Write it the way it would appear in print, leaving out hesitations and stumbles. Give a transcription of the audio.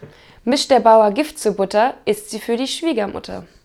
Mischt der Bauer Gift zur Butter, ist sie für die Schwiegermutter.